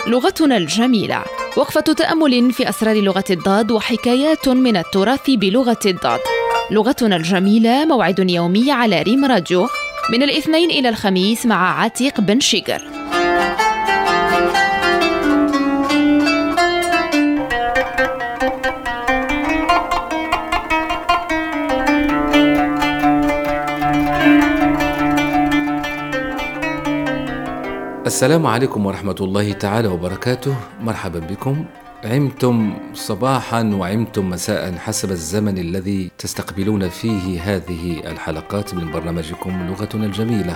لغتنا الجميلة، وقفة تأمل في أسرار لغة الضاد وحكايات من التراث بلغة الضاد. لغتنا الجميلة موعد يومي على ريم راديو من الاثنين إلى الخميس مع عتيق بن شيقر. السلام عليكم ورحمة الله تعالى وبركاته. مرحبا بكم. عمتم صباحا وعمتم مساء حسب الزمن الذي تستقبلون فيه هذه الحلقات من برنامجكم لغتنا الجميلة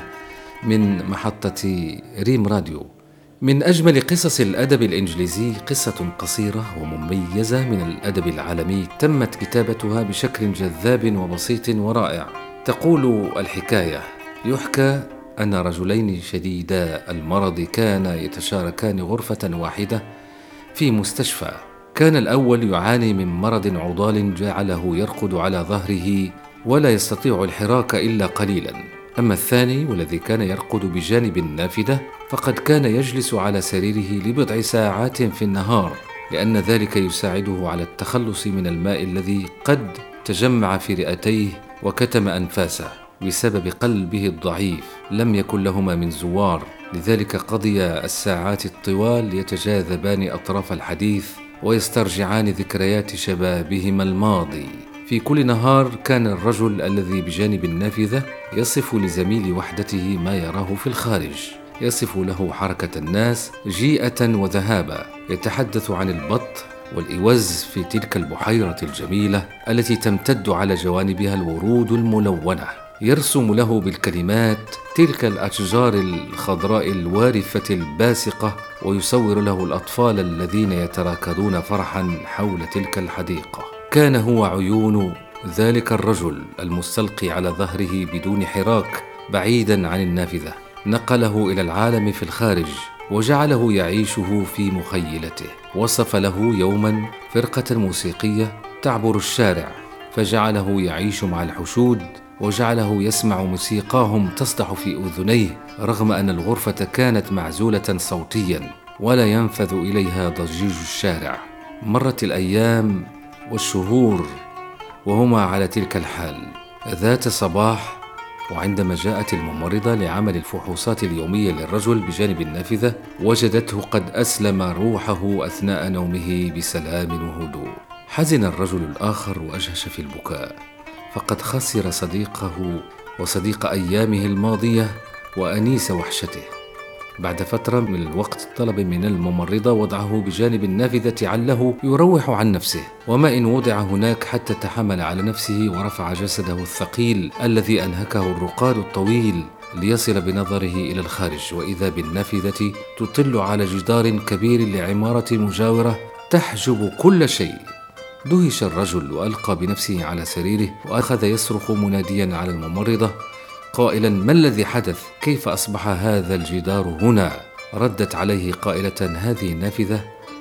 من محطة ريم راديو. من أجمل قصص الأدب الإنجليزي قصة قصيرة ومميزة من الأدب العالمي تمت كتابتها بشكل جذاب وبسيط ورائع. تقول الحكاية: يحكى أن رجلين شديدا المرض كانا يتشاركان غرفة واحدة في مستشفى. كان الأول يعاني من مرض عضال جعله يرقد على ظهره ولا يستطيع الحراك إلا قليلا، أما الثاني والذي كان يرقد بجانب النافذة فقد كان يجلس على سريره لبضع ساعات في النهار، لأن ذلك يساعده على التخلص من الماء الذي قد تجمع في رئتيه وكتم أنفاسه بسبب قلبه الضعيف. لم يكن لهما من زوار، لذلك قضي الساعات الطوال يتجاذبان أطراف الحديث ويسترجعان ذكريات شبابهما الماضي. في كل نهار كان الرجل الذي بجانب النافذة يصف لزميل وحدته ما يراه في الخارج، يصف له حركة الناس جيئة وذهابا، يتحدث عن البط والإوز في تلك البحيرة الجميلة التي تمتد على جوانبها الورود الملونة، يرسم له بالكلمات تلك الأشجار الخضراء الوارفة الباسقة، ويصور له الأطفال الذين يتراكضون فرحا حول تلك الحديقة. كان هو عيون ذلك الرجل المستلقي على ظهره بدون حراك بعيدا عن النافذة، نقله إلى العالم في الخارج وجعله يعيشه في مخيلته. وصف له يوما فرقة موسيقية تعبر الشارع فجعله يعيش مع الحشود وجعله يسمع موسيقاهم تصدح في أذنيه، رغم أن الغرفة كانت معزولة صوتيا ولا ينفذ إليها ضجيج الشارع. مرت الأيام والشهور وهما على تلك الحال. ذات صباح وعندما جاءت الممرضة لعمل الفحوصات اليومية للرجل بجانب النافذة وجدته قد أسلم روحه أثناء نومه بسلام وهدوء. حزن الرجل الآخر وأجهش في البكاء، فقد خسر صديقه وصديق أيامه الماضية وأنيس وحشته. بعد فترة من الوقت طلب من الممرضة وضعه بجانب النافذة عله يروح عن نفسه، وما إن وضع هناك حتى تحمل على نفسه ورفع جسده الثقيل الذي أنهكه الرقاد الطويل ليصل بنظره إلى الخارج، وإذا بالنافذة تطل على جدار كبير لعمارة مجاورة تحجب كل شيء. دهش الرجل وألقى بنفسه على سريره وأخذ يصرخ مناديا على الممرضة قائلا: ما الذي حدث؟ كيف أصبح هذا الجدار هنا؟ ردت عليه قائلة: هذه النافذة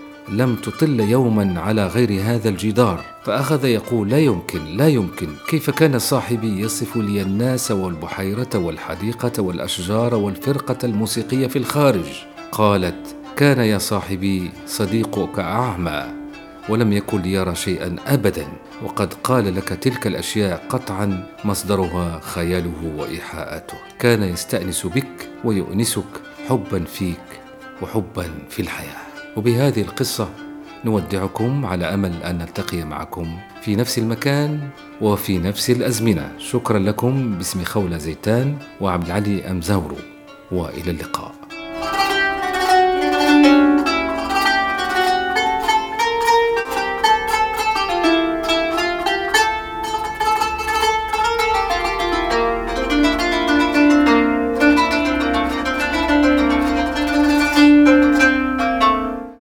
لم تطل يوما على غير هذا الجدار. فأخذ يقول: لا يمكن، كيف كان صاحبي يصف لي الناس والبحيرة والحديقة والأشجار والفرقة الموسيقية في الخارج؟ قالت: كان يا صاحبي صديقك أعمى ولم يكن ليرى شيئا أبدا، وقد قال لك تلك الأشياء قطعا مصدرها خياله وإيحاءاته. كان يستأنس بك ويؤنسك حبا فيك وحبا في الحياة. وبهذه القصة نودعكم على أمل أن نلتقي معكم في نفس المكان وفي نفس الأزمنة. شكرا لكم باسم خولة زيتان وعبد العلي أمزورو، وإلى اللقاء.